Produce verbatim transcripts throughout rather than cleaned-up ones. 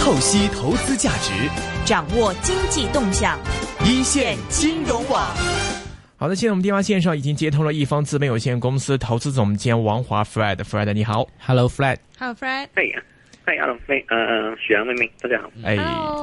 透析投資價值， 掌握經濟動向， 一線金融網。好的，現在我們電話線上已經接通了一方資本有限公司投資總監王華 Fred。Fred 你好 ，Hello Fred。Hello Fred。係啊，係 Hello Fred，呃，許陽明明，大家好。 哎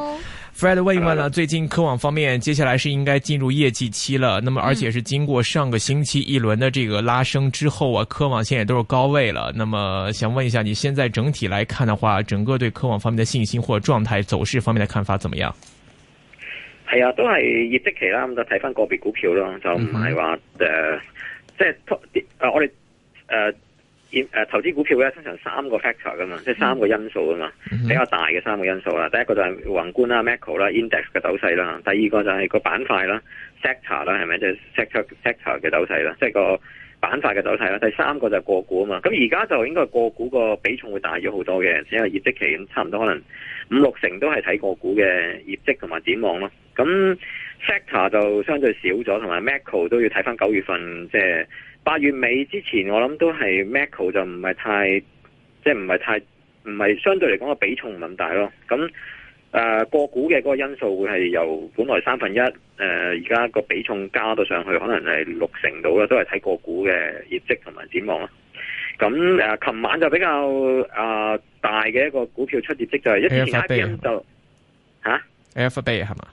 Fred 問一問了，最近科網方面接下來是應該進入業績期了，那麼而且是經過上個星期一輪的這個拉升之後啊，科網現在也都是高位了。那麼想問一下，你現在整體來看的話，整個對科網方面的信心或者狀態走勢方面的看法怎麼樣？ 係啊，都係業績期啦，咁就睇翻個別股票咯，就唔係話誒，即係誒我哋誒。呃誒投資股票咧，通常三個 factor 噶嘛，即係三個因素噶嘛，比較大嘅三個因素啦。第一個就係宏觀啦 macro 啦 index 嘅走勢啦。第二個就係個板塊啦 sector 啦，係咪即係 sector sector 嘅走勢啦，即係個板塊嘅走勢啦。第三個就係個股啊嘛。咁而家就應該個股個比重會大咗好多嘅，因為業績期咁差唔多可能五六成都係睇個股嘅業績同埋展望咯。咁 sector 就相對少咗，同埋 macro 都要睇翻九月份即係。八月尾之前，我諗都係 macro 就唔係太，即係唔係太，唔係相對嚟講個比重唔咁大咯。咁誒、呃、個股嘅嗰個因素會係由本來三分一，誒而家個比重加到上去，可能係六成到啦，都係睇個股嘅業績同埋展望啦。咁誒，琴、呃、晚就比較誒、呃、大嘅一個股票出業績就係、是、一之前 I B M 就吓 Alphabet 係嘛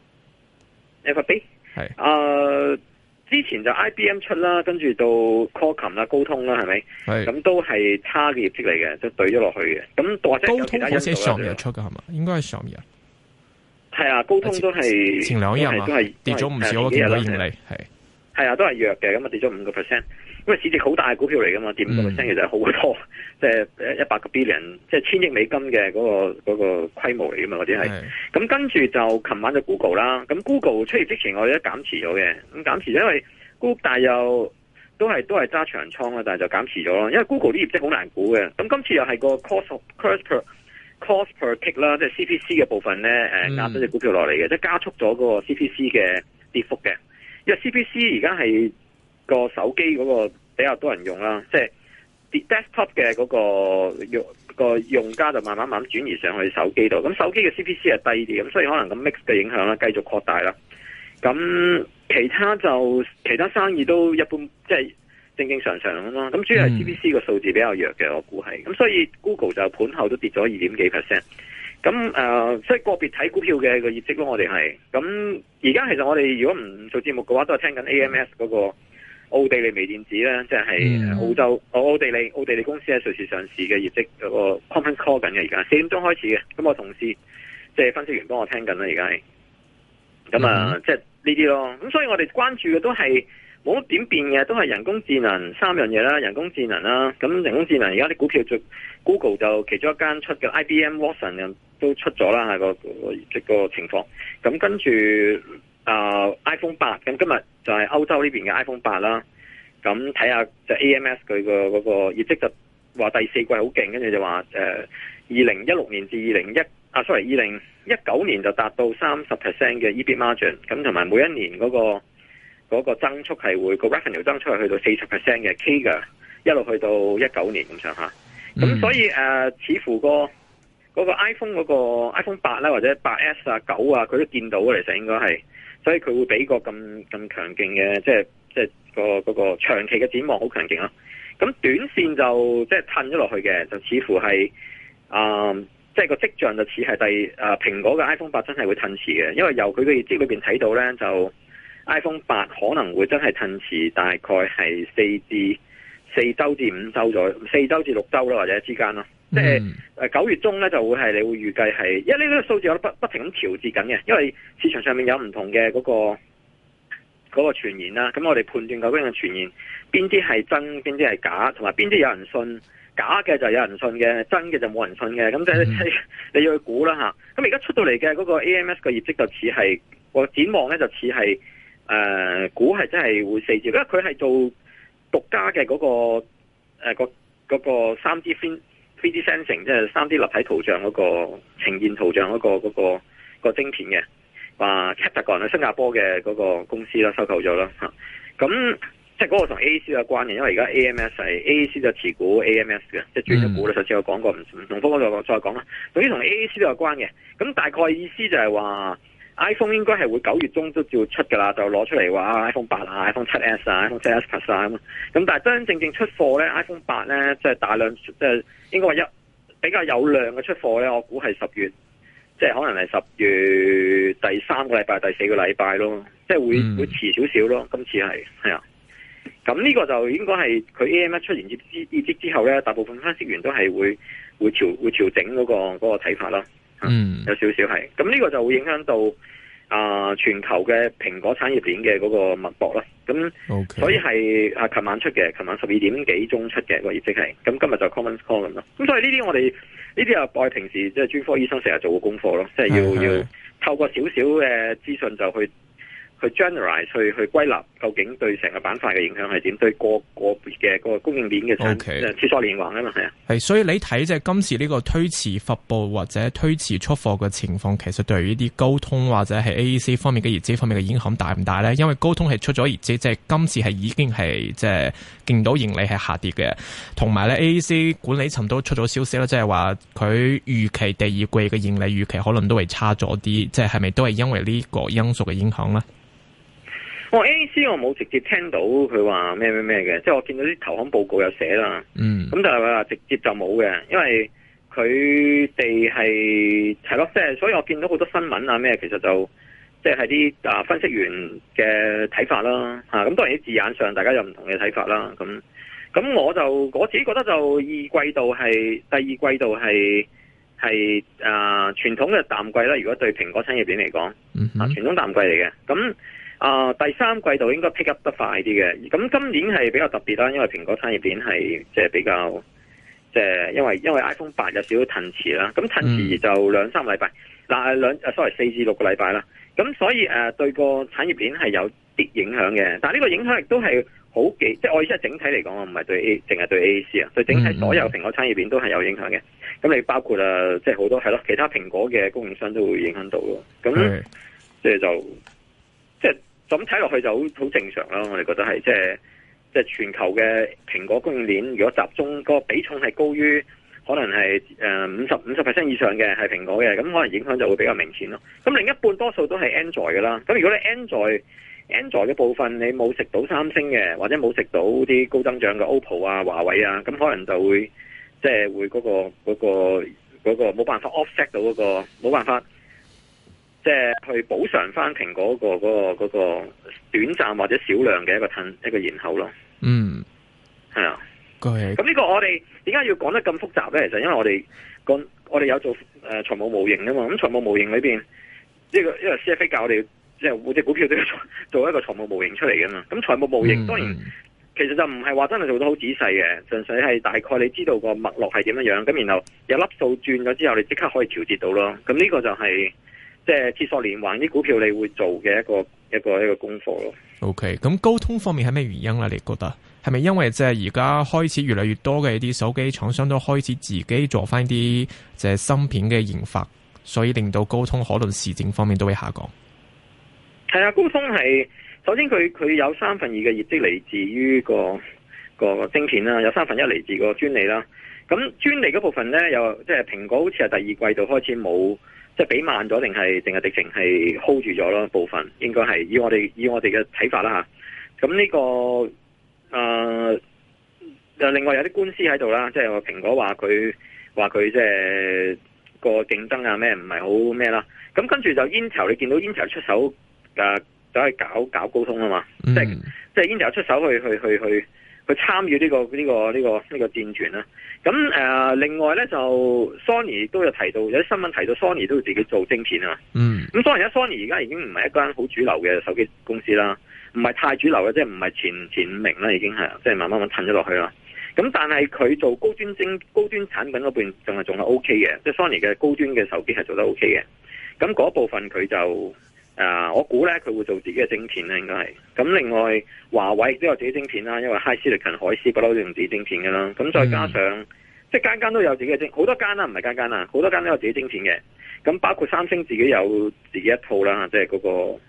Alphabet 係誒。之前就 I B M 出啦，跟住到 Qualcomm 啦、高通啦，係咪？係。咁都係差嘅業績嚟嘅，就對咗落去嘅。咁或者有其他因素啦。高通好似上日出嘅係嘛？應該係上日。係啊，高通都係前兩日嘛，都係跌咗唔少嘅盈利。係。係啊，都係弱嘅，咁啊跌咗五個 percent。因為市值好大嘅股票嚟噶嘛，跌五個 percent 其實係好多，即係誒一百個 billion，即係千億美金嘅嗰個嗰個規模嚟噶嘛，嗰啲係。咁跟住就琴晚就 Google 啦，咁 Google 出業之前我哋都減持咗嘅，咁減持咗因為 Google 但係又都係都係揸長倉啦，但係就減持咗咯，因為 Google 啲業績好難估嘅。咁今次又係個 cost cost per cost per tick 啦，即係 C P C 嘅部分咧，誒壓咗隻股票落嚟嘅，即係加速咗嗰個 C P C 嘅跌幅嘅，因為 C P C 而家係。個手機嗰個比較多人用啦，即係 desktop 嘅嗰個用個用家就慢慢慢轉移上去手機度。咁手機嘅 C P C 係低啲，咁所以可能咁 mix 嘅影響啦，繼續擴大啦。咁其他就其他生意都一般，即係正正常常咁咯。咁主要係 C P C 個數字比較弱嘅，我估係。咁所以 Google 就盤後都跌咗二點幾 percent。咁誒，即、呃、係個別睇股票嘅個業績咯。我哋係咁而家，其實我哋如果唔做節目嘅話，都係聽緊 A M S 嗰、那個。奧地利微電子咧，即係澳洲，嗯、奧地利奧地利公司喺瑞士上市嘅業績嗰個 conference call 緊嘅，而家四點鐘開始嘅。咁我同事即係分析員幫我聽緊啦，而家係咁啊，即係呢啲咯。咁所以我哋關注嘅都係冇乜點變嘅，都係人工智能三樣嘢啦，人工智能啦。咁人工智能而家啲股票就 Google 就其中一間出嘅 I B M Watson 都出咗啦，係個個業績個情況。咁跟住。啊、uh, iPhone 八，咁今日就係歐洲呢邊嘅 iPhone 八啦。咁睇下就 A M S 佢個嗰個業績就話第四季好勁，跟住就話誒二零一六年至二零一啊，sorry 二零一九年就達到三十 percent 嘅 E B I T margin，咁同埋每一年嗰、那個嗰、那個增速係會、那個 revenue 增速係去到四十 percent 嘅 K 嘅，一路去到一九年咁上下。咁、mm. 所以誒、呃，似乎、那個嗰、那個 iPhone 嗰個 iPhone 八啦，或者八 S 啊、九啊，佢都見到嘅，其實應該係。所以佢會俾個咁咁強勁嘅，即係即係個嗰個長期嘅展望好強勁咯。咁短線就即係褪咗落去嘅，就似乎係啊，即係個跡象就似係第啊蘋果嘅 iPhone 八真係會褪遲嘅，因為由佢嘅業績裏邊睇到咧，就 iPhone 八可能會真係褪遲，大概係四至四周至五周左右，四周至六周啦，或者之間咯。即係誒九月中咧就會係你會預計係，因為呢個數字我都不不停咁調節緊嘅，因為市場上面有唔同嘅嗰個嗰個傳言啦，咁我哋判斷究竟嘅傳言邊啲係真，邊啲係假，同埋邊啲有人信，假嘅就有人信嘅，真嘅就冇人信嘅，咁即係你要去估啦吓。咁而家出到嚟嘅嗰個 A M S 嘅業績就似係個展望咧，就似係誒估係真係會四字，因為佢係做獨家嘅嗰個誒個嗰個三 D fin。三 D sensing 即係三 D 立體圖像嗰個呈現圖像嗰個嗰個嗰個晶片嘅，話 Captagon 喺新加坡嘅嗰個公司啦收購咗啦嚇。咁即係嗰個同 A A C 有關嘅，因為而家 A M S 係 A A C 就持股 A M S 嘅，即係轉咗股啦。上次我講過，唔唔同方嗰度再講啦。總之同 A A C 都有關嘅。咁大概意思就係話 iPhone 應該係會九月中都照出噶啦，就攞出嚟話 iPhone 八啊、iPhone 七 S 啊、iPhone 七 S Plus 啊咁。咁但係真真正正出貨咧 ，iPhone 八咧即係大量，即係應該話一比較有量嘅出貨咧，我估係十月，即係可能係十月第三個禮拜、第四個禮拜咯，即係會、嗯、會遲少少咯。今次係係啊。咁呢個就應該係佢 A M S 出完業績之後咧，大部分分析員都係會會調會調整嗰、嗰個嗰、嗰個睇法啦。嗯，有少少係。咁呢個就會影響到啊、呃、全球嘅蘋果產業鏈嘅嗰個脈搏啦。咁，okay. 所以係啊，琴晚出嘅，琴晚十二點幾鐘出嘅、嗰個業績係。咁今日就 conference call 咁咯。咁所以呢啲我哋呢啲啊，我哋平時即係專科醫生成日做嘅功課咯，即係要要透過少少嘅資訊就去。去 generalize 去去歸納究竟對成個板塊嘅影響係點？對個個別嘅個供應鏈嘅產誒切磋連環啊嘛，係啊。 係，所以你睇即係今次呢個推遲發布或者推遲出貨嘅情況，其實對於啲高通或者係 A A C 方面嘅業績方面嘅影響大唔大咧？因為高通係出咗業績，即係今次係已經係即係見到盈利係下跌嘅，同埋咧 A A C 管理層都出咗消息啦，即係話佢預期第二季嘅盈利預期可能都係差咗啲，即係係咪都係因為呢個因素嘅影響咧？ 我、哦、A A C 我冇直接聽到佢話咩咩咩嘅，即係我見到啲投行報告有寫啦。嗯，咁但係話直接就冇嘅，因為佢哋係係咯，即係所以我見到好多新聞啊咩，其實就即係啲啊分析員嘅睇法啦。吓、啊，咁當然啲字眼上大家有唔同嘅睇法啦。咁咁我就我自己覺得就二季度係第二季度係係啊傳統嘅淡季啦。如果對蘋果產業鏈嚟講，嗯、啊傳統淡季嚟嘅咁。啊、呃，第三季度應該 pick up 得快啲嘅，咁今年係比較特別啦，因為蘋果產業鏈係即係比較，即係因為因為 iPhone 八有少少褪遲啦，咁褪遲就兩三個禮拜，嗱兩誒 sorry 四至六個禮拜啦，咁所以誒、呃、對個產業鏈係有啲影響嘅，但係呢個影響亦都係好幾，即係我意思係整體嚟講，唔係對 A 淨係對 A A C 啊，對整體所有蘋果產業鏈都係有影響嘅，咁你包括啊即係好多係咯，其他蘋果嘅供應商都會影響到咯，咁即係就即係。咁睇落去就好好正常啦，我哋覺得係即係即係全球嘅蘋果供應鏈，如果集中個比重係高於可能係誒五十五十 percent 以上嘅係蘋果嘅，咁可能影響就會比較明顯咯。咁另一半多數都係 Android 嘅啦。咁如果你 Android Android 嘅部分你冇食到三星嘅，或者冇食到啲高增長嘅 O P P O 啊、華為啊，咁可能就會即係會嗰個嗰個嗰個冇辦法 offset 到嗰個冇辦法。即係去補償翻蘋果嗰、嗰個、嗰個短暫或者少量嘅一個褪一個延後咯。嗯，係啊。咁呢個我哋點解要講得咁複雜咧？其實因為我哋個我哋有做誒財務模型啊嘛。咁財務模型裏邊呢個因為 C F A 教我哋即係每隻股票都要做做一個財務模型出嚟噶嘛。咁財務模型當然、嗯、其實就唔係話真係做得好仔細嘅，純粹係大概你知道個脈絡係點樣樣，咁然後有粒數轉咗之後，你即刻可以調節到咯。咁呢個就係、是。即係鐵索連環啲股票，你會做嘅一個一個一個功課咯。 OK，咁高通方面係咩原因咧？你覺得係咪因為即係而家開始越嚟越多嘅一啲手機廠商都開始自己做翻啲即係芯片嘅研發，所以令到高通可能市佔方面都會下降？ 係啊，高通係首先佢佢有三分二嘅業績嚟自於個個晶片啦，有三分一嚟自個專利啦。咁專利嗰部分咧，又即係蘋果好似係第二季度開始冇。即係比慢咗，定係定係直情係 hold 住咗咯？部分應該係以我哋以我哋嘅睇法啦吓。咁呢、這個誒、呃，另外有啲官司喺度啦，即係話蘋果話佢話佢即係個競爭啊咩唔係好咩啦。咁跟住就 Intel， 你見到 Intel 出手誒走去搞搞高通啊嘛，嗯、即係即係 Intel 出手去去去去去參與呢個呢、這個呢、這個呢、這個戰團啦。咁誒、呃，另外咧就 Sony 都有提到，有啲新聞提到 Sony 都要自己做晶片啊。嗯。咁當然啦 Sony 而家已經唔係一間好主流嘅手機公司啦，唔係太主流嘅，即係唔係前前五名啦，已經係，即係慢慢咁褪咗落去啦。咁但係佢做高端晶高端產品嗰邊仲係仲係 O K 嘅，即係 Sony 嘅高端嘅手機係做得 O K 嘅。咁嗰部分佢就誒、呃，我估咧佢會做自己嘅晶片咧，應該係。咁另外華為都有自己晶片啦，因為 HiSilicon 海思不嬲都用自己晶片嘅啦。咁再加上、嗯、即係間間都有自己嘅晶，好多間啦，唔係間間啦，好多間都有自己晶片嘅。咁包括三星自己有自己一套啦，即係嗰個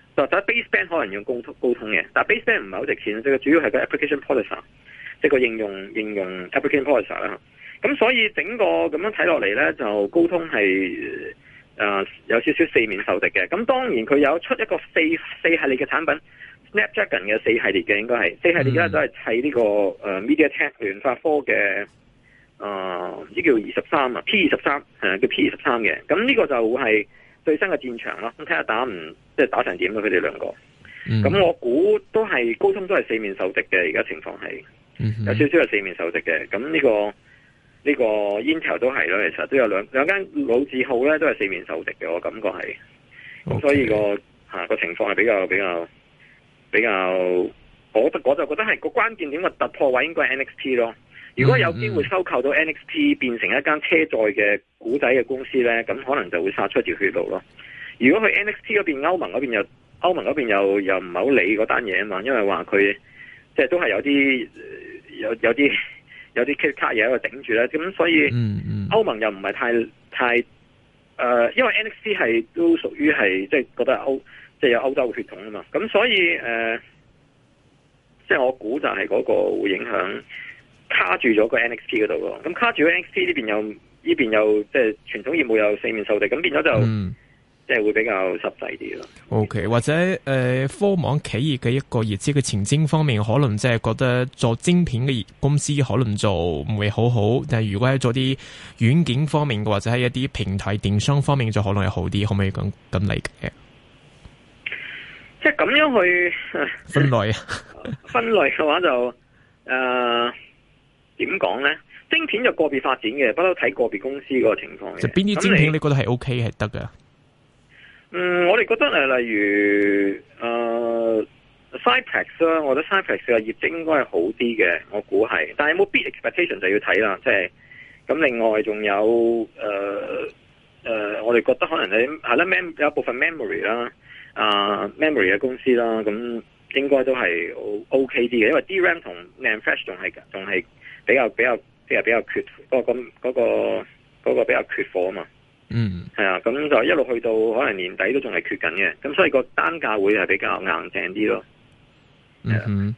就睇 baseband 可能用高通高通嘅，但係 baseband 唔係好值錢，即係主要係個 application processor，即係個應用應用 application processor 啦。咁所以整個咁樣睇落嚟咧，就高通係誒、呃、有少少四面受敵嘅。咁當然佢有出一個四四系列嘅產品 ，Snapdragon 嘅四系列嘅應該係四系列咧，都係砌呢個誒、呃、MediaTek 聯發科嘅誒唔知叫二十三啊 P 二十三誒叫 P 二十三嘅。咁呢個就會係最新嘅戰場咯。咁睇下打唔即係打成點咯，佢哋兩個。咁、嗯、我估都係高通都係四面受敵嘅，而家情況係有少少係四面受敵嘅。咁呢、這個。呢個 Intel 都係咯，其實都有兩兩間老字號咧，都係四面受敵嘅，我感覺係。咁、okay. 所以、那個吓、啊、個情況係比較比較比較，我我就覺得係個關鍵點嘅突破位應該係 N X P 咯。如果有機會收購到 N X P 變成一間車載嘅股仔嘅公司咧，咁可能就會殺出條血路咯。如果佢 N X P 嗰邊歐盟嗰邊又歐盟嗰邊又又唔係好理嗰單嘢啊嘛，因為話佢即係都係有啲有有啲。有啲 K 卡嘢喺度頂住咧，咁所以歐盟又唔係太太誒、呃，因為 N X P 係都屬於係即係覺得歐即係有歐洲嘅血統啊嘛，咁所以誒、呃，即係我估就係嗰個會影響卡住咗個 N X P 嗰度咯，咁卡住咗 N X P 呢邊又呢邊又即係傳統業務有四面受敵，咁變咗就。嗯即係會比較實際啲咯。 O、okay, K， 或者誒、呃、科網企業嘅一個業績嘅前景方面，可能即係覺得做晶片嘅公司可能做唔會好好，但係如果係做啲軟件方面嘅，或者係一啲平台電商方面，就可能係好啲，可唔可以咁咁理解？ 即係咁樣去分類啊？ 分類嘅話就誒點講咧？晶片就個別發展嘅，不嬲睇個別公司嗰個情況嘅。就邊啲晶片你覺得係 O K 係得嘅？ 嗯，我哋覺得誒，例如誒、呃、Cypress 啦，我覺得 Cypress 嘅業績應該係好啲嘅，我估係。但係有冇 beat expectation 就要睇啦，即係咁。另外仲有誒誒、呃呃，我哋覺得可能係係啦 ，mem 有部分 memory 啦，啊 memory 嘅公司啦，咁應該都係 O K 啲嘅，因為 D RAM 同 NAND Flash 仲係仲係比較比較即係比較缺嗰、嗰個咁嗰、嗰個嗰個比較缺貨啊嘛。嗯，係啊，咁就一路去到可能年底都仲係缺緊嘅，咁所以個單價會係比較硬淨啲咯。 嗯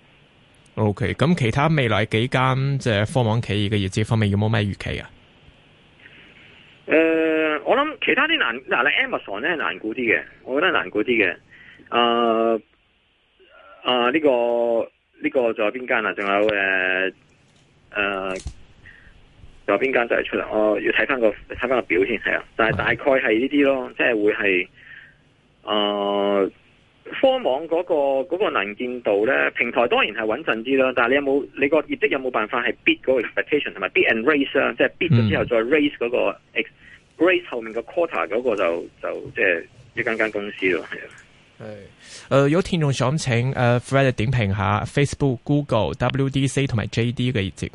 ，OK，咁其他未來幾間即係科網企業嘅業績方面有冇咩預期啊？ 誒、呃，我諗其他啲難嗱，你 Amazon 咧難估啲嘅，我覺得難估啲嘅。誒誒，呢個呢個仲有邊間啊？仲有誒誒。呃有邊間就係出嚟？我要睇翻個睇翻個表先，係啊，但係大概係呢啲咯，即係會係誒、呃、科網嗰、嗰個嗰、嗰個能見度咧，平台當然係穩陣啲啦。但係你有冇你個業績有冇辦法係 beat 嗰個 expectation 同埋 beat and raise 啊？即係 beat 咗之後再 raise 嗰、嗰個、嗯、raise 後面個 quarter 嗰個就就即係一間間公司咯，係啊。 係誒、呃，有聽眾想請誒、呃、Fred 點評下 Facebook、Google、W D C 同埋 J D 嘅業績。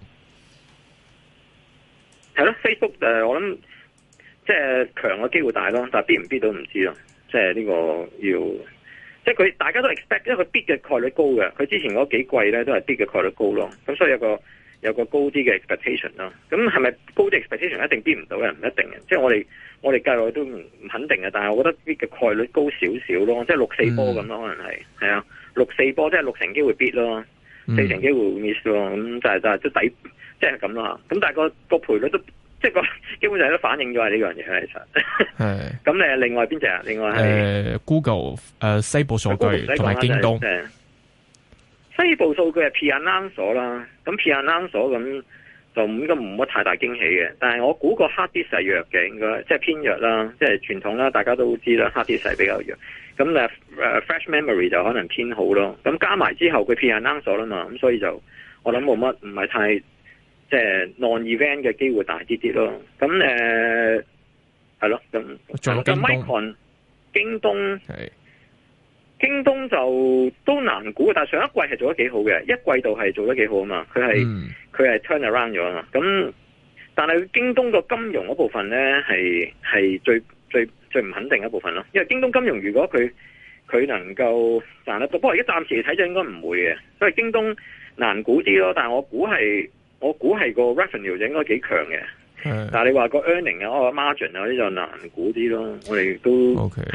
係咯 ，Facebook 誒、呃，我諗即係強嘅機會大咯，但係 beat 唔 beat 都唔知咯。即係呢個要，即係佢大家都 expect，因為佢 beat 嘅概率高嘅。佢之前嗰幾季咧都係 beat 嘅概率高咯。咁所以有個有個高啲嘅 expectation 咯。咁係咪高啲 expectation 一定 beat 唔到嘅？唔一定嘅。即係我哋我哋計落去都唔唔肯定嘅。但係我覺得 beat 嘅概率高少少咯。即係六四波咁咯，可能係係啊，六四波即係六成機會 beat 咯，四成機會 miss 咯。咁就係就係都抵。即係咁啦，咁但係個個賠率都即係個基本上都反映咗係呢樣嘢，其實係咁誒。另外邊隻啊？另外係誒、 呃、Google 誒、呃、西部數據同埋京東。 就是、西部數據係 pre-announce 啦，咁 pre-announce 咁就應該冇乜太大驚喜嘅。但係我估個 hard disk 係弱嘅，應該即係偏弱啦，即係傳統啦，大家都知啦，hard disk 係比較弱。咁誒誒 flash memory 就可能偏好咯。咁加埋之後佢 pre-announce 啦嘛，咁所以就我諗冇乜唔係太。即係 non-event 嘅機會大啲啲咯，咁誒係咯，咁咁 Micron 京東係京東就都難估，但係上一季係做得幾好嘅，一季度係做得幾好啊嘛，佢係佢係 turn around 咗啊嘛，咁但係京東個金融嗰部分咧係係最最最唔肯定一部分咯，因為京東金融如果佢佢能夠賺得到，不過而家暫時嚟睇就應該唔會嘅，所以京東難估啲咯，但係我估係。我估係個 revenue 就應該幾強嘅，但係你話個 earning 啊、哦、margin 啊嗰啲就難估啲咯。我哋都 OK 係啊。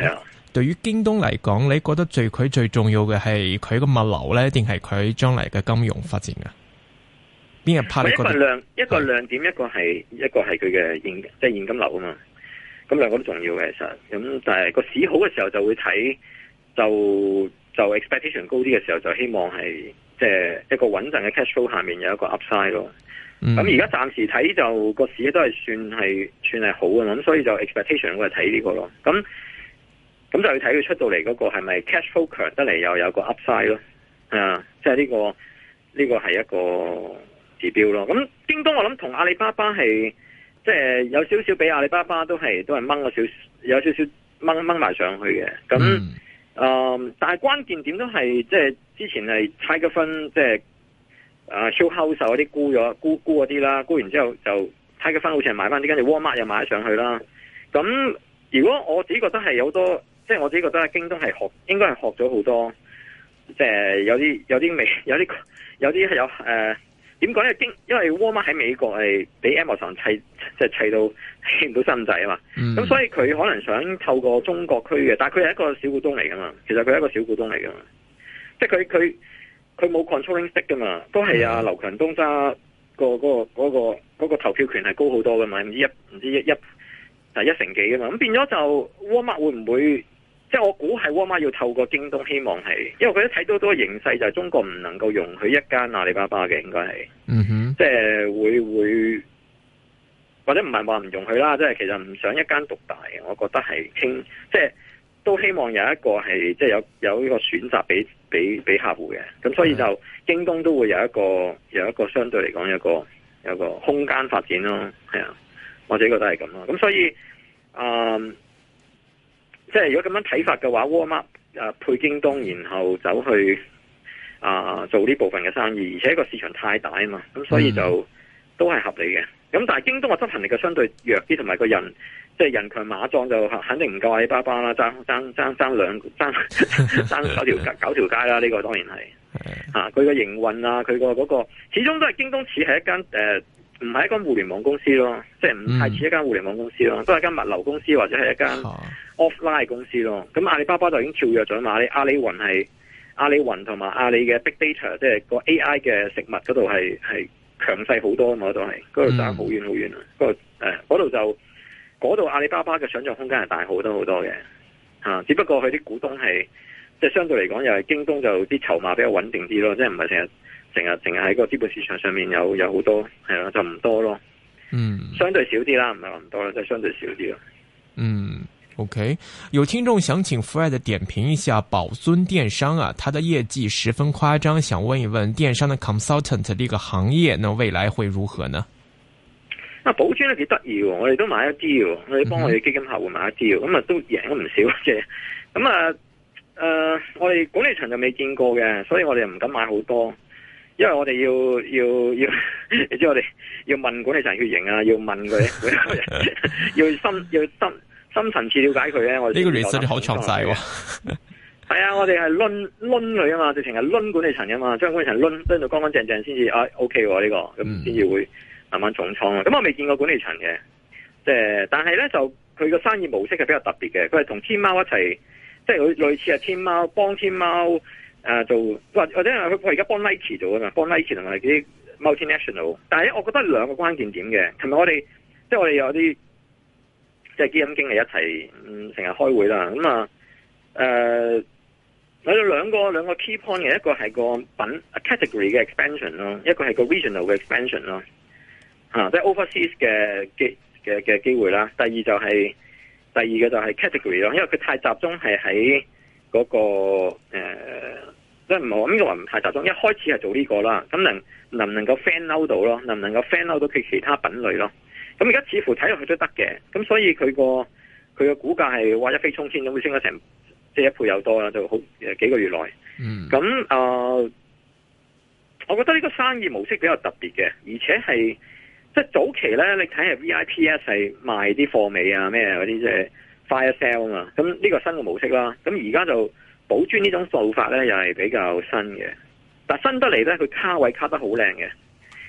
對於京東嚟講，你覺得最佢最重要嘅係佢個物流咧，定係佢將來嘅金融發展啊？邊日拍？一個亮一個亮點，一個係一個係佢嘅現即係現金流啊嘛。咁兩個都重要嘅，其實咁但係個市好嘅時候就會睇，就就 expectation 高啲嘅時候就希望係即係一個穩陣嘅 cash flow 下面有一個 upside 咯。咁而家暫時睇就個市都係算係算係好嘅，咁所以就 expectation 會係睇呢個咯。咁咁就要睇佢出到嚟嗰個係咪 cash flow 強得嚟又有個 upside 咯。啊，即係呢個呢個係一個指標咯。咁京東我諗同阿里巴巴係即係有少少比阿里巴巴都係都係掹咗少有少少掹掹埋上去嘅。咁誒、嗯呃，但係關鍵點都係即係之前係 Tiger Fund 即係。啊 Hill House 嗰啲沽咗沽沽嗰啲啦，沽完之後就睇佢分好似係買翻啲，跟住 Walmart 又買上去啦。咁如果我自己覺得係有好多，即係我自己覺得京東係學，應該係學咗好多，即係有啲有啲未有啲有啲係有誒點講咧？經因為 Walmart 喺美國係俾 Amazon 砌即係砌到起唔到身仔啊嘛。咁、嗯、所以佢可能想透過中國區嘅，但係佢係一個小股東嚟噶嘛。其實佢係一個小股東嚟噶嘛，即係佢佢。佢冇 controlling stake 噶嘛，都係阿劉強東揸個嗰個嗰個嗰個投票權係高好多噶嘛，唔知一唔知一一係一成幾噶嘛，咁變咗就 Walmart 會唔會即係我估係 Walmart 要透過京東，希望係因為佢都睇到多形勢就係中國唔能夠容許一間阿里巴巴嘅，應該係，嗯哼，即係會會或者唔係話唔容許啦，即係其實唔想一間獨大嘅，我覺得係傾即係。都希望有一個係即係有有呢個選擇俾俾俾客戶嘅，咁所以就京東都會有一個有一個相對嚟講有一個有一個空間發展咯，係啊，我自己覺得係咁咯。咁所以，嗯，即係如果咁樣睇法嘅話，Walmart 誒配京東，然後走去啊、呃、做呢部分嘅生意，而且個市場太大啊嘛，咁所以就、嗯、都係合理嘅。咁但係京東嘅執行力嘅相對弱啲，同埋個人。即係人強馬壯就肯定唔夠阿里巴巴啦，爭爭爭爭兩爭爭九條街九條街啦，呢、這個當然係嚇佢個營運啊，佢個嗰個始終都係京東似係一間誒唔係一間互聯網公司咯，即係唔太似一間互聯網公司咯，都係間物流公司或者係一間 offline 公司咯。咁阿里巴巴就已經跳躍咗嘛，阿里阿里雲係阿里雲同埋阿里嘅 big data，即係個 A I 嘅食物嗰度係係強勢好多啊嘛，嗰度係嗰度爭好遠好遠啊，嗰度誒嗰度就。嗰度阿里巴巴嘅想象空間係大好多好多嘅，嚇！只不過佢啲股東係即係相對嚟講，又係京東就啲籌碼比較穩定啲咯，即係唔係成日成日淨係喺個資本市場上面有有好多係咯，就唔多咯。嗯，相對少啲啦，唔係話唔多啦，即係相對少啲咯。 嗯 ，OK， 有聽眾想請 Fred 點評一下寶尊電商啊，它的業績十分誇張，想問一問電商的 consultant 呢個行業，那未來會如何呢？ 啊，寶尊都幾得意喎！我哋都買一啲喎，我哋幫我哋基金客戶買一啲喎，咁啊都贏咗唔少嘅。咁啊，誒、呃，我哋管理層就未見過嘅，所以我哋又唔敢買好多，因為我哋要要要，你知我哋要問管理層血型啊，要問佢，要深要深深層次了解佢咧。我哋呢個 research 好詳細喎。係啊，我哋係掄掄佢啊嘛，直情係掄管理層啊嘛，將管理層掄掄到乾乾淨淨先至啊 OK 喎呢、這個，咁先至會。慢慢重倉啊！咁我未見過管理層嘅，即係但係咧就佢個生意模式係比較特別嘅，佢係同天貓一齊，即係類類似係天貓幫天貓誒、呃、做，或或者係佢佢而家幫 Nike 做啊嘛，幫 Nike 同埋啲 multinational。但係我覺得兩個關鍵點嘅，琴日我哋即係我哋有啲即係基金經理一齊嗯成日開會啦，咁啊誒有兩個兩個 key point 嘅，一個係個品 category 嘅 expansion 咯，一個係個 regional 嘅 expansion 咯。啊，即係 overseas 嘅機嘅嘅機會啦。第二就係、是、第二嘅就係 category 咯，因為佢太集中係喺嗰個誒，即係唔好咁呢個話唔太集中。一開始係做呢個啦，咁能能唔能夠 fan out 到咯？能唔能夠 fan out 到佢其他品類咯？咁而家似乎睇落去都得嘅，咁所以佢個佢個股價係話一飛沖天咁，會升咗成即係一倍有多啦，就好誒幾個月內。嗯，咁啊、呃，我覺得呢個生意模式比較特別嘅，而且係。即係早期咧，你睇下 V I P S 係賣啲貨尾啊咩嗰啲即係 fire sale 啊嘛，咁呢個新嘅模式啦。咁而家就寶尊呢種做法咧，又係比較新嘅。但係新得嚟咧，佢卡位卡得好靚嘅。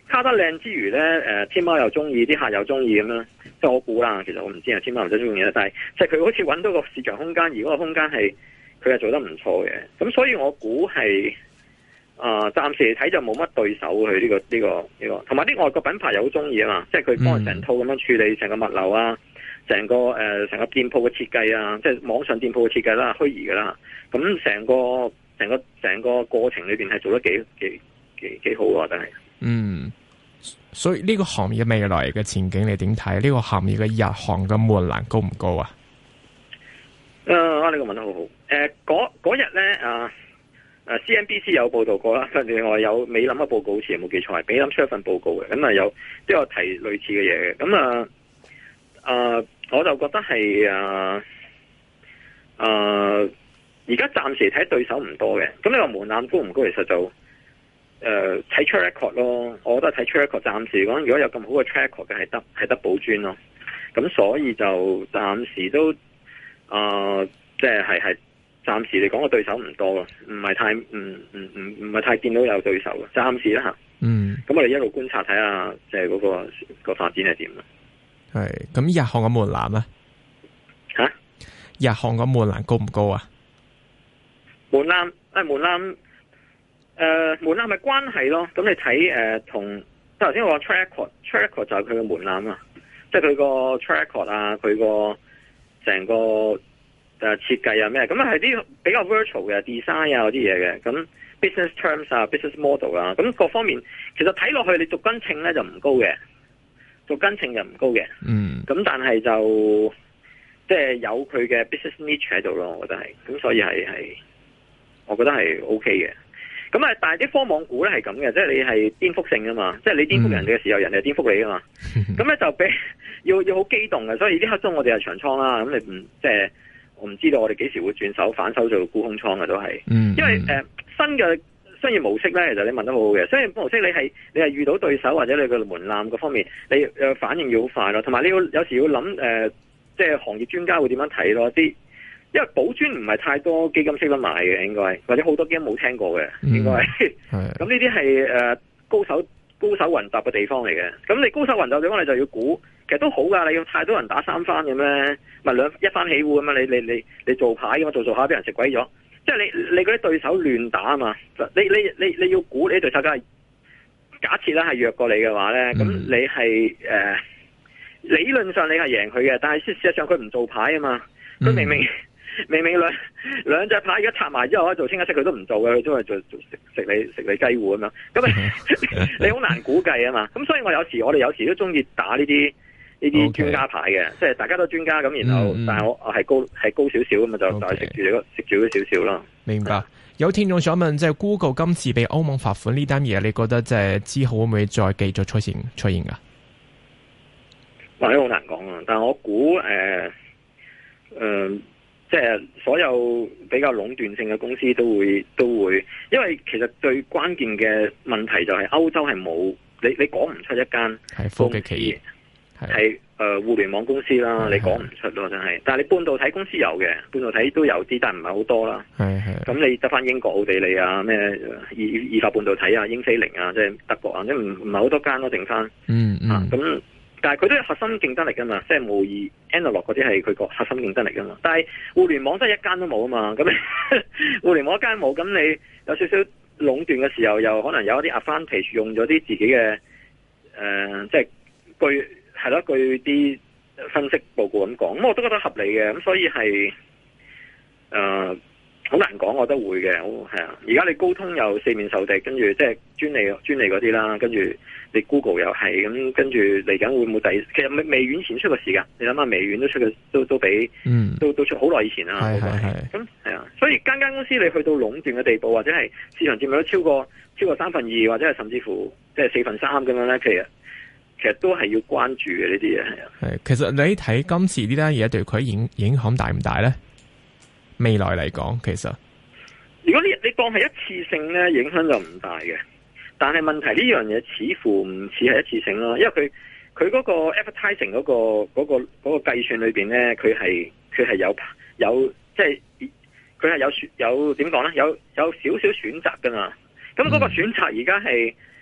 卡得靚之餘咧，誒、呃、天貓又中意，啲客又中意咁樣，即係我估啦。其實我唔知啊，天貓唔使中意啦，但係即係佢好似揾到個市場空間，而嗰個空間係佢係做得唔錯嘅。咁所以我估係啊，暫、呃、時嚟睇就冇乜對手佢呢、這個呢、這個呢、這個，同埋啲外國品牌又好中意啊嘛，即係佢幫佢成套咁樣處理成個物流啊，成個誒成、呃、個店鋪嘅設計啊，即係網上店鋪嘅設計啦，虛擬㗎啦，咁成個成個成個過程裏邊係做得幾幾幾幾好啊，真係。嗯。 所以呢個行業未來嘅前景你點睇？呢、這個行業嘅入行嘅門檻高唔高啊？ 誒、呃，呢、這個問得好好。誒、呃，嗰日咧啊，誒 C N B C 有報道過啦，另外有美林嘅報告，好似有冇記錯係美林出一份報告嘅，咁啊有都有提類似嘅嘢嘅。咁啊誒，我就覺得係啊誒，而家暫時睇對手唔多嘅。咁你話門檻高唔高？其實就誒，睇、呃、track record 咯，我覺得睇 track record，暫時講，如果有咁好嘅 track record 嘅，係得係得寶尊咯。咁所以就暫時都，啊，即係係係暫時嚟講個對手唔多咯，唔係太唔唔唔唔係太見到有對手嘅，暫時啦吓。嗯。咁我哋一路觀察睇下，即係嗰個個發展係點啊？ 係。咁日行嘅門檻啊？ 吓？ 日行嘅門檻高唔高啊？ 門檻誒，門檻。誒、呃，門檻咪關係咯？咁你睇誒，同即係頭先我話 track record，track record 就係佢嘅門檻啊，即係佢個 track record 啊，佢個成個誒設計啊咩，咁啊係啲比較 virtual 嘅 design 啊嗰啲嘢嘅，咁 business terms 啊 ，business model 啊，咁各方面其實睇落去你逐根稱咧就唔高嘅，逐根稱就唔高嘅，嗯，咁但係就即係有佢嘅 business niche 喺度咯，我覺得係，咁所以係係，我覺得係 OK 嘅。咁啊，但係啲科網股咧係咁嘅，即係你係顛覆性噶嘛，即係你顛覆人哋嘅時候，嗯、人哋係顛覆你噶嘛。咁咧就俾要要好機動嘅，所以呢刻鐘我哋係長倉啦。咁你唔即係我唔知道我哋幾時會轉手反手做沽空倉嘅都係。嗯、因為誒、呃、新嘅商業模式咧，其實你問得好好嘅。商業模式你係你係遇到對手或者你個門檻嗰方面，你誒反應要好快咯。同埋你要有時要諗誒、呃，即係行業專家會點樣睇咯啲。因為寶尊唔係太多基金識得買嘅，應該或者好多基金冇聽過嘅，應該係。咁呢啲係誒高手高手雲集嘅地方嚟嘅。咁你高手雲集嘅地方，你就要估，其實都好噶。你要太多人打三番嘅咩？咪兩一番起戶咁嘛？你你你你做牌咁嘛？做做下俾人食鬼咗。即係你你嗰啲對手亂打啊嘛。你你你你要估你對手梗係假設啦，係弱過你嘅話咧，咁、嗯、你係誒、呃、理論上你係贏佢嘅，但係事實上佢唔做牌啊嘛。佢明明。嗯明明兩兩隻牌而家插埋之後可以做清一色，佢都唔做嘅，佢都係做做食食你食你雞糊咁樣。咁你你好難估計啊嘛。咁所以我有時我哋有時都中意打呢啲呢啲專家牌嘅，即係大家都專家咁，然後、嗯、但係我我係高係高少少咁嘛，就 okay. 就係食住你食住咗少少咯。明白。有聽眾想問，即係 Google 今次被歐盟罰款呢單嘢，你覺得即係之後會唔會再繼續出現出現噶？哇，呢好難講啊！但係我估誒誒。呃呃即係所有比較壟斷性嘅公司都會都會，因為其實最關鍵嘅問題就係歐洲係冇你你講唔出一間係科技企業係誒、呃、互聯網公司啦，你講唔出咯真係。但係你半導體公司有嘅，半導體都有啲，但係唔係好多啦。係係。咁你得翻英國、奧地利啊，咩意意法半導體啊、英飛凌啊，即係德國啊，即係唔唔係好多間咯，剩翻。嗯嗯。咁、啊。但係佢都有核心競爭力噶嘛，即係無疑 Analog 嗰啲係佢個核心競爭力噶嘛。但係互聯網真係一間都冇啊嘛，咁互聯網一間冇，咁你有少少壟斷嘅時候，又可能有一啲 advantage 用咗啲自己嘅誒、呃，即係據係咯，據啲分析報告咁講，咁我都覺得合理嘅，咁所以係誒好難講，我覺得會嘅，係啊。而家你高通又四面受敵，跟住即係專利專利嗰啲啦，跟住。你 Google 又係咁，跟住嚟緊會唔會第？其實微微軟前出個時間，你諗下微軟都出嘅，都都比，嗯，都都出好耐以前啦。係係係。咁係啊，所以間間公司你去到壟斷嘅地步，或者係市場佔有率超過超過三分二，或者係甚至乎即係四分三咁樣咧，其實其實都係要關注嘅呢啲嘢係啊。係，其實你睇今次呢單嘢對佢影影響大唔大咧？未來嚟講，其實如果你你當係一次性咧，影響就唔大嘅。但係問題呢樣嘢似乎唔似係一次性咯，因為佢佢嗰個 advertising 嗰個嗰個嗰個計算裏邊咧，佢係佢係有有即係佢係有有點講咧，有有少少選擇噶嘛。咁嗰個選擇而家係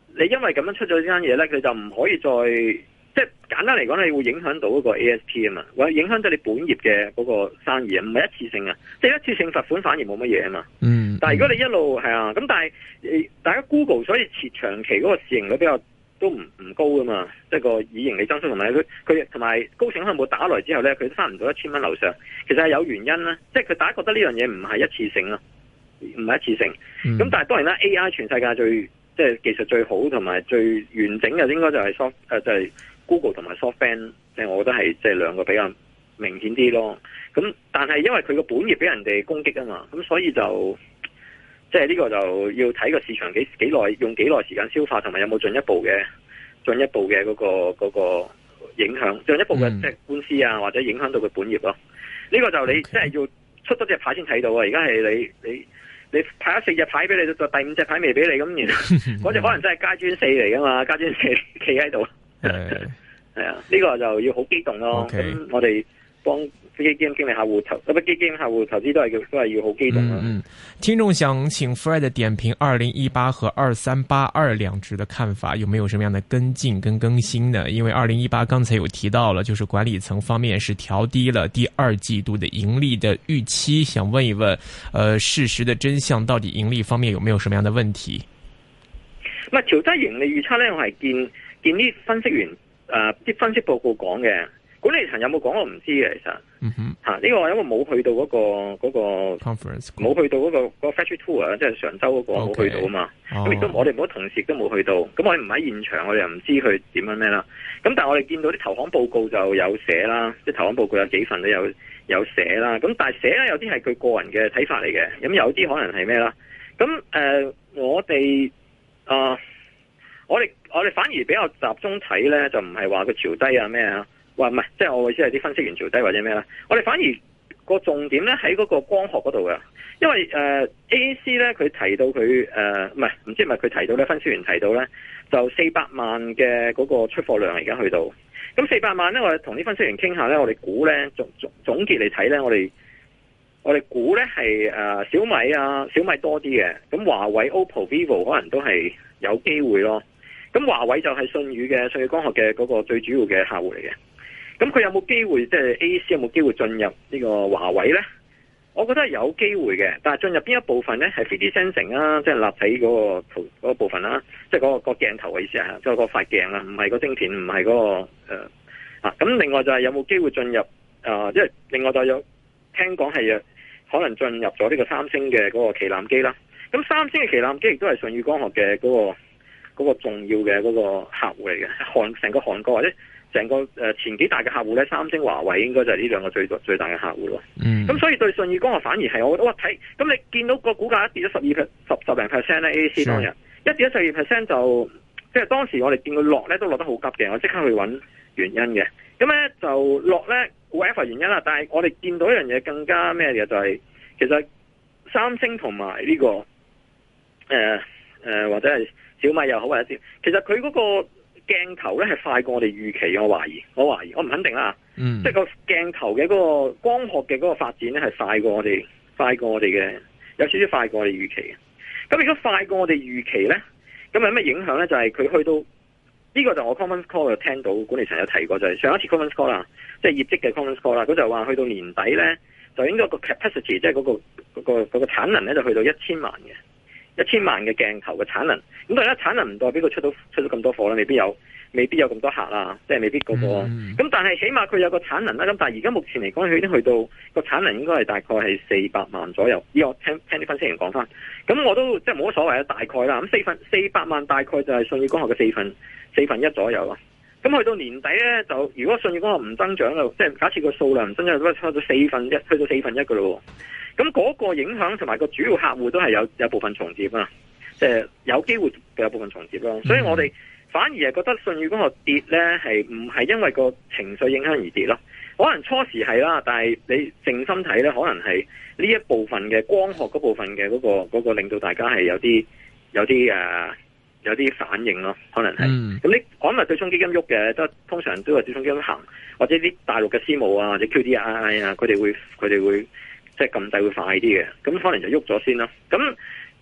你因為咁樣出咗呢間嘢咧，佢就唔可以再即係簡單嚟講，你會影響到嗰個 A S P 啊嘛，或者影響到你本業嘅嗰個生意啊，唔係一次性啊，即係一次性罰款反而冇乜嘢啊嘛。 嗯。 但係如果你一路係啊，咁但係大家 Google 所以設長期嗰個市盈率比較都唔唔高噶嘛，即係個以盈利增速同埋佢佢同埋高盛可能冇打來之後咧，佢都翻唔到一千蚊樓上，其實係有原因啦，即係佢大家覺得呢樣嘢唔係一次性咯，唔係一次性。咁、嗯、但係當然啦 ，A I 全世界最即係技術最好同埋最完整嘅應該就係 soft 誒就係、是、Google 同埋 SoftBank， 即係我覺得係即係兩個比較明顯啲咯。咁但係因為佢個本業俾人哋攻擊啊嘛，咁所以就即係呢個就要睇個市場幾幾耐用幾耐時間消化，同埋有冇進一步嘅進一步嘅嗰、嗰個嗰、嗰個影響，進一步嘅即係官司啊，或者影響到佢本業咯。呢、呢個就你即係要出多隻牌先睇到啊！而家係你你你派咗四隻牌俾你，到第五隻牌未俾你，咁然後嗰隻可能真係階磚四嚟噶嘛，階磚四企喺度。係啊，呢個就要好激動咯。咁、okay. 我哋幫基金經理客戶投，咁基金客戶投資都係都係要好激動咯。 嗯，聽眾想請 Fred 點評二零一八和二三八二兩隻的看法，有沒有什麼樣的跟進跟更新呢？因為二零一八剛才有提到了，就是管理層方面是調低了第二季度的盈利的預期，想問一問，呃，事實的真相到底盈利方面有沒有什麼樣的問題？ 唔係調低盈利預測咧，我係見見啲分析員誒啲、呃、分析報告講嘅。管理層有冇講我唔知嘅，其實，嗯哼，吓、啊、呢、這個因為冇去到嗰、那個嗰、那個 conference，冇去到嗰、那個嗰、那個 factory tour 啊，即係常州嗰個冇去到啊嘛。咁亦都我哋冇同事都冇去到，咁我哋唔喺現場，我哋又唔知佢點樣咩啦。咁但係我哋見到啲投行報告就有寫啦，即係投行報告有幾份都有有寫啦。咁但係寫咧有啲係佢個人嘅睇法嚟嘅，咁有啲可能係咩啦？咁誒、呃，我哋啊、呃，我哋我哋反而比較集中睇咧，就唔係話佢調低啊咩啊。話唔係，即係我意思係啲分析員調低或者咩啦。我哋反而個重點咧喺嗰個光學嗰度嘅，因為誒、呃、A A C 咧佢提到佢誒唔係唔知係咪佢提到咧，分析員提到咧就四百萬嘅嗰個出貨量而家去到，咁四百萬咧我哋同啲分析員傾下咧，我哋估咧總總總結嚟睇咧，我哋我哋估咧係誒小米啊小米多啲嘅，咁華為、O P P O、Vivo 可能都係有機會咯。咁華為就係舜宇嘅舜宇光學嘅嗰個最主要嘅客戶嚟嘅。咁佢有冇機會即係 A A C 有冇機會進入呢個華為咧？我覺得係有機會嘅，但係進入邊一部分咧係 three D sensing 啊，即係立體嗰個圖嗰個部分啦，即係嗰個個鏡頭嘅意思係，即係個塊鏡啊，唔係個晶片，唔係嗰個誒啊。咁另外就係有冇機會進入啊？即係另外就有聽講係可能進入咗呢個三星嘅嗰個旗艦機啦。咁三星嘅旗艦機亦都係舜宇光學嘅嗰個嗰個重要嘅嗰個客戶嚟嘅，韓成個韓國或者。成個誒前幾大嘅客戶咧，三星、華為應該就係呢兩個最最大嘅客戶咯。嗯，咁所以對舜宇光學反而係我覺得哇睇，咁你見到個股價一跌咗十二 per 十十零 percent 咧 ，A A C 當日一跌咗十二 percent 就即係當時我哋見佢落咧都落得好急嘅，我即刻去揾原因嘅。咁咧就落咧 whatever 原因啦，但係我哋見到一樣嘢更加咩嘅就係、是、其實三星同埋呢個誒誒、呃呃、或者係小米又好或者點，其實佢嗰、那個。鏡頭咧係快過我哋預期，我懷疑，我懷疑，我唔肯定啦。嗯，即係個鏡頭嘅嗰個光學嘅嗰個發展咧係快過我哋，快過我哋嘅，有少少快過我哋預期嘅。咁如果快過我哋預期咧，咁有咩影響咧？就係、是、佢去到呢、這個就我 conference call 就聽到管理層有提過，就係、是、上一次 conference call 啦，即係業績嘅 conference call 啦，佢就話去到年底咧，就應該個 capacity 即係嗰個嗰、那個嗰、那個產能咧就去到一千萬嘅。一千萬嘅鏡頭嘅產能，咁當然啦，產能唔代表佢出到出到咁多貨啦，未必有，未必有咁多客啦，即係未必嗰、那個。咁、嗯、但係起碼佢有個產能啦。咁但係而家目前嚟講，佢已經去到個產能應該係大概係四百萬左右。依我聽聽啲分析員講翻，咁我都即係冇乜所謂啊，大概啦。咁四分四百萬大概就係舜宇光學嘅四分四分一左右咯。咁去到年底咧，就如果舜宇光學唔增長啦，即係假設個數量唔增長，都係差咗四分一，去到四分一噶咯。咁嗰個影響同埋個主要客戶都係有有部分重疊啊，即係有機會有部分重疊咯。所以我哋反而係覺得舜宇光學跌咧，係唔係因為個情緒影響而跌咯？可能初時係啦，但係你靜心睇咧，可能係呢一部分嘅光學嗰部分嘅嗰個嗰個令到大家係有啲有啲誒有啲反應咯，可能係。咁你可能對沖基金喐嘅，都通常都係對沖基金行，或者啲大陸嘅私募啊，或者 Q D I 啊，佢哋會佢哋會。即係撳掣會快啲嘅，咁可能就喐咗先啦。咁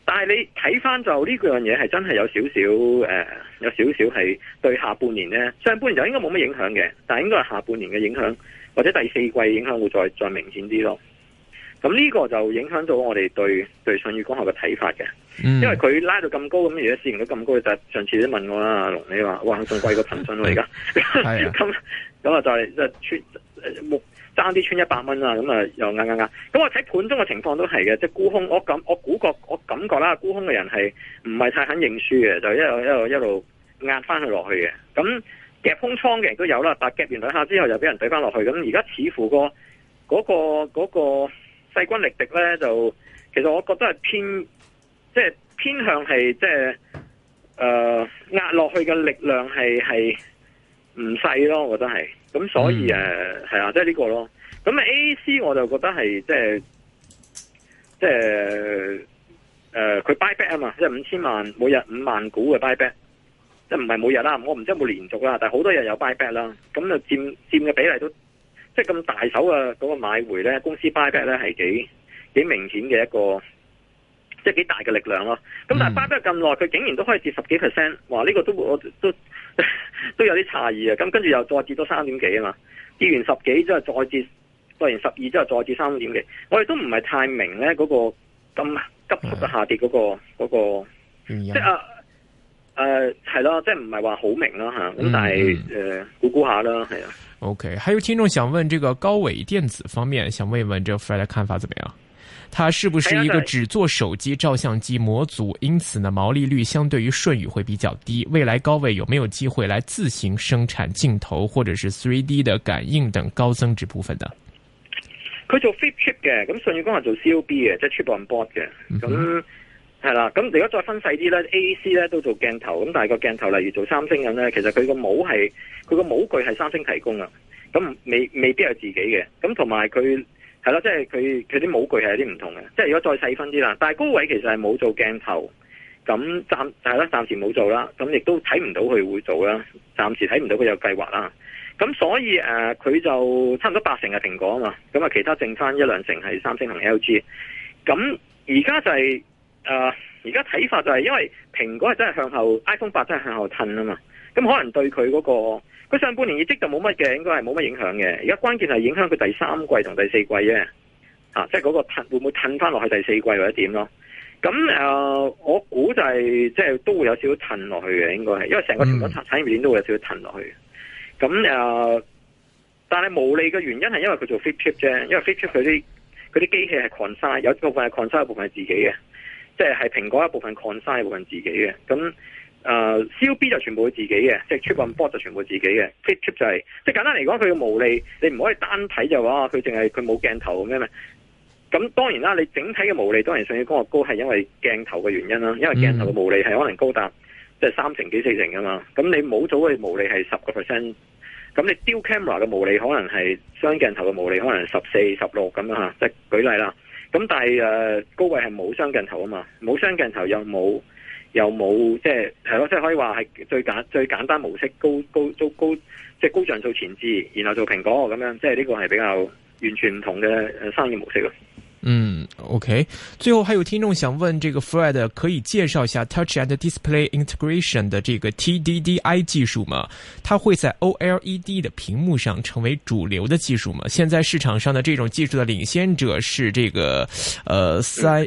但係你睇翻就呢樣嘢係真係有少少誒，有少少係對下半年咧，上半年就應該冇乜影響嘅，但係應該係下半年嘅影響或者第四季影響會再再明顯啲咯。咁呢個就影響到我哋對對舜宇光學嘅睇法嘅，嗯、因為佢拉到咁高咁，而家市盈率咁高，就上次都問我啦，阿龍你話哇仲貴過騰訊喎而家，咁咁啊就係即係穿木爭啲穿一百蚊啦，咁啊又啱啱啱，咁我睇盤中嘅情況都係嘅，即係沽空，我感我估覺我感覺啦，沽空嘅人係唔係太肯認輸嘅，就一路一路一路壓翻佢落去嘅，咁夾空倉嘅人都有啦，但係夾完兩下之後又俾人懟翻落去，咁而家似乎個嗰個嗰個。嗰個勢均力敵咧，就其實我覺得係偏，即係偏向係即係誒壓落去嘅力量係係唔細咯，我覺得係，咁所以誒係、嗯、啊，即係呢個咯。咁 A A C 我就覺得係即係即係誒佢 buy back 啊嘛，即係五千萬每日五萬股嘅 buy back，即係唔係每日啦，我唔知有冇連續啦，但係好多日有 buy back 啦，咁就佔佔嘅比例都。即係咁大手嘅嗰個買回咧，公司 buy back 咧係幾幾明顯嘅一個，即係幾大嘅力量咯。咁但係 buy back 咁耐，佢竟然都可以跌十幾 percent，哇！呢、這個都我都都有啲詫異啊。咁跟住又再跌多三點幾啊嘛，跌完十幾之後再跌，跌完十二之後再跌三點幾。我哋都唔係太明咧嗰個咁急速嘅下跌嗰、那個嗰、那個，即係啊誒係咯，即係唔係話好明啦吓。咁但係誒估估下啦，係啊。 OK， 還有聽眾想問這個高偉電子方面，想問一問這個 Fred 的看法怎麼樣？它是不是一個只做手機照相機模組，因此呢毛利率相對於舜宇會比較低？未來高偉有沒有機會來自行生產鏡頭或者是 三 D 的感應等高增值部分呢？ 佢做 flip chip 嘅，咁舜宇光係做 C O B 嘅，即係 chip on board 嘅，咁係啦。咁如果再分細啲咧 ，A A C 咧都做鏡頭，咁但係個鏡頭例如做三星咁咧，其實佢個模係。佢個模具係三星提供啊，咁未未必係自己嘅，咁同埋佢係咯，即係佢佢啲模具係有啲唔同嘅，即係如果再細分啲啦，但係高偉其實係冇做鏡頭，咁暫係啦，暫時冇做啦，咁亦都睇唔到佢會做啦，暫時睇唔到佢有計劃啦，咁所以誒佢、呃、就差唔多八成係蘋果啊嘛，咁啊其他剩翻一兩成係三星同 L G， 咁而家就係誒而家睇法就係因為蘋果係真係向後 ，iPhone 八真係向後褪啊嘛，咁可能對佢嗰、嗰個。佢上半年業績就冇乜嘅，應該係冇乜影響嘅。而家關鍵係影響佢第三季同第四季啫，啊，即係嗰個褪會唔會褪翻落去第四季或者點咯？咁誒、呃，我估就係、是、即係都會有少少褪落去嘅，應該係，因為成個全球產產業鏈都會有少少褪落去。咁誒、呃，但係無利嘅原因係因為佢做 flip chip 啫，因為 flip chip 佢啲佢啲機器係 consign，有部分係 consign，有部分係自己嘅，即係係蘋果一部分 consign，一部分自己嘅，咁。誒、uh, C O B 就全部係自己嘅，即係 chip on board 就全部自己嘅 flip chip 就係、是，即係簡單嚟講，佢嘅毛利你唔可以單睇就話佢淨係佢冇鏡頭咁樣。咁當然啦，你整體嘅毛利當然舜宇光學高係因為鏡頭嘅原因啦，因為鏡頭嘅毛利係可能高達即係三成幾四成噶嘛。咁你冇咗嘅毛利係十個 percent，咁你 dual camera 嘅毛利可能係雙鏡頭嘅毛利可能十四十六咁樣吓，即係舉例啦。咁但係誒、呃、高偉係冇雙鏡頭啊嘛，冇雙鏡頭又冇。又冇即係係咯，即係可以話係最簡最簡單模式，高高高高即係高像素前置，然後做蘋果咁樣，即係呢個係比較完全唔同嘅生意模式咯。 嗯 ，OK。最後還有聽眾想問，這個 Fred 可以介紹一下 Touch and Display Integration 的這個 T D D I 技術嗎？它會在 O L E D 的屏幕上成為主流的技術嗎？現在市場上的這種技術的領先者是這個，呃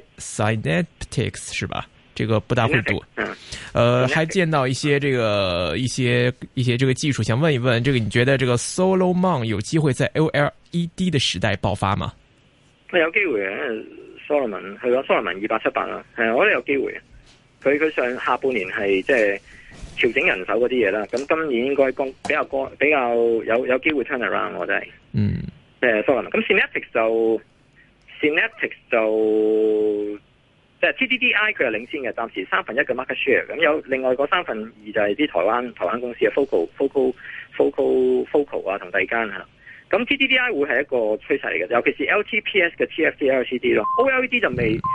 Synaptics 是吧？這個不大會讀，呃，還見到一些這個一些一些這個技術，想問一問，這個你覺得這個 Solomon 有機會在 O L E D 的時代爆發嗎？ 有機會嘅 ，Solomon 係咯 ，Solomon 二八七八啦，係啊，我覺得有機會。佢佢上下半年係即係調整人手嗰啲嘢啦，咁今年應該比較高比較有有機會 turn around，我覺得係，嗯，誒 Solomon，咁 Synaptics 就 Synaptics 就。即係 T D D I 佢係領先嘅，暫時三分一嘅 market share，咁有另外嗰三分二就係啲台灣台灣公司嘅 Focal Focal Focal Focal 啊同第二間嚇，咁 T D D I 會係一個趨勢嚟嘅，尤其是 L T P S 嘅 T F T L C D 咯 ，O L E D 就未。